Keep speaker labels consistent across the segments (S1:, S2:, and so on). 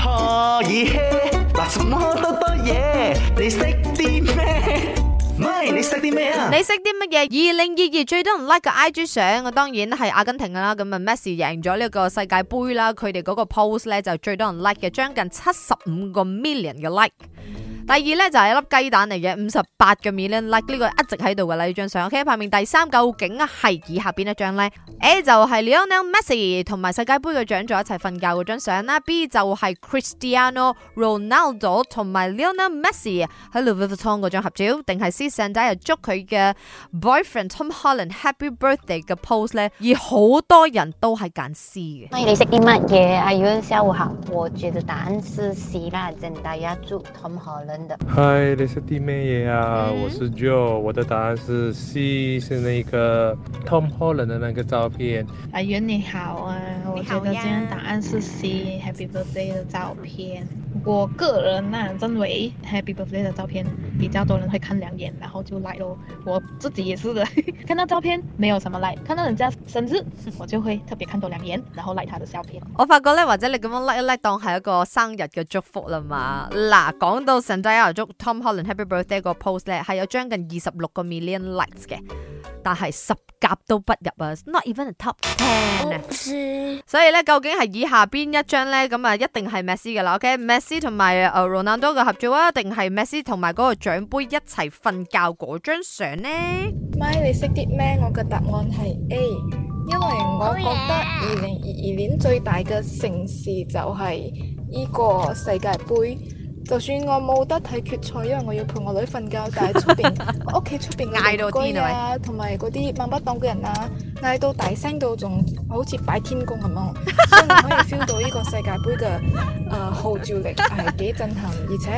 S1: 可以嘿，嗱什麼多多嘢，你識啲咩？咪你識啲咩啊？
S2: 你識啲乜嘢？2022最多人 like 嘅 IG 相，我當然係阿根廷啦。咁啊 Messi 贏咗呢個世界盃啦，佢哋嗰個 post 咧就最多人 like 嘅，將近75個 million 嘅 like。第二咧就係一粒雞蛋嚟嘅，58個 million like， 呢個一直喺度嘅啦呢張相。OK， 排名第3究竟係以下邊一張咧？A 就係 Lionel Messi 同埋世界盃嘅獎座一齊瞓覺嗰張相啦。B 就係 Cristiano Ronaldo 同埋 Lionel Messi 喺 Louis Vuitton 嗰張合照，定係 C Zendaya 祝佢嘅 boyfriend Tom Holland Happy Birthday 嘅 post 咧？而好多人都係揀 C 嘅。
S3: 歡迎你識啲乜嘢？阿遠下午好，我覺得答案是 C 啦，Zendaya 祝 Tom Holland。
S4: 嗨，你是啲咩嘢啊？我是 Joe， 我的答案是 C， 是那个 Tom Holland 的那个照片。
S5: 阿元你好啊，我觉得今天答案是 C，Happy Birthday 的照片。我个人认为 Happy Birthday 的照片比较多人会看2眼，然後就 like 咯。我自己也是的，看到照片沒有什麼 like， 看到人家生日我就會特別看多2眼，然後 like 他的照片。
S2: 我發覺咧，或者你咁樣 like 一 like 當係一個生日嘅祝福啦嘛。嗱，講到 Zendaya 祝 Tom Holland Happy Birthday 個 post 咧，係有將近26個 million likes 嘅，但係10甲都不入啊 ，not even a top 10啊。所以咧，究竟係以下邊一張咧？咁啊，一定係 Messi 噶啦。OK，Messi 同埋Ronaldo 嘅合照啊，定係 Messi 同埋嗰個獎杯一齊瞓覺嗰張相呢？
S6: 咪你識啲咩？我嘅答案係 A， 因為我覺得2022年最大嘅盛事就係呢個世界盃。就算我冇得睇決賽，因為我要陪我女瞓覺，但係出邊我屋企出邊嘅鄰居啊，同埋嗰啲掹不當嘅人啊，嗌到大聲到仲好似擺天公咁樣，所以你可以 feel 到呢個世界盃嘅號召力係幾震撼，而且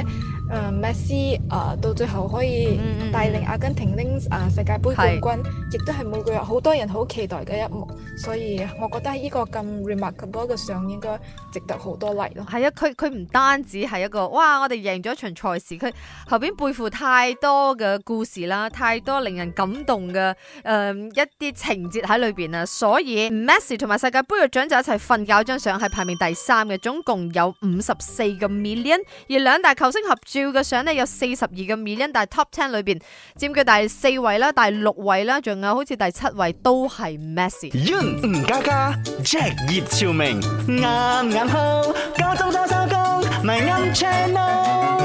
S6: Messi 到最後可以帶領阿根廷拎世界盃冠軍，亦都係每個月好多人好期待嘅一幕，所以我覺得呢個咁 remarkable 嘅相應該值得好多 like 咯。
S2: 係啊，佢唔單止係一個哇！我哋贏咗場賽事，佢後邊背負太多嘅故事啦，太多令人感動嘅一啲情節喺裏邊啊，所以 Messi 同埋世界盃嘅獎就一齊瞓覺張相係排名第3嘅，總共有54個 million， 而兩大球星合照嘅相呢有42個 million， 但係 Top 10裏邊佔據第4位啦、第6位啦，仲有好似第7位都係 Messi。
S1: 吳家家 Jack 葉朝明啱啱好，夠鐘收工咪啱 channel。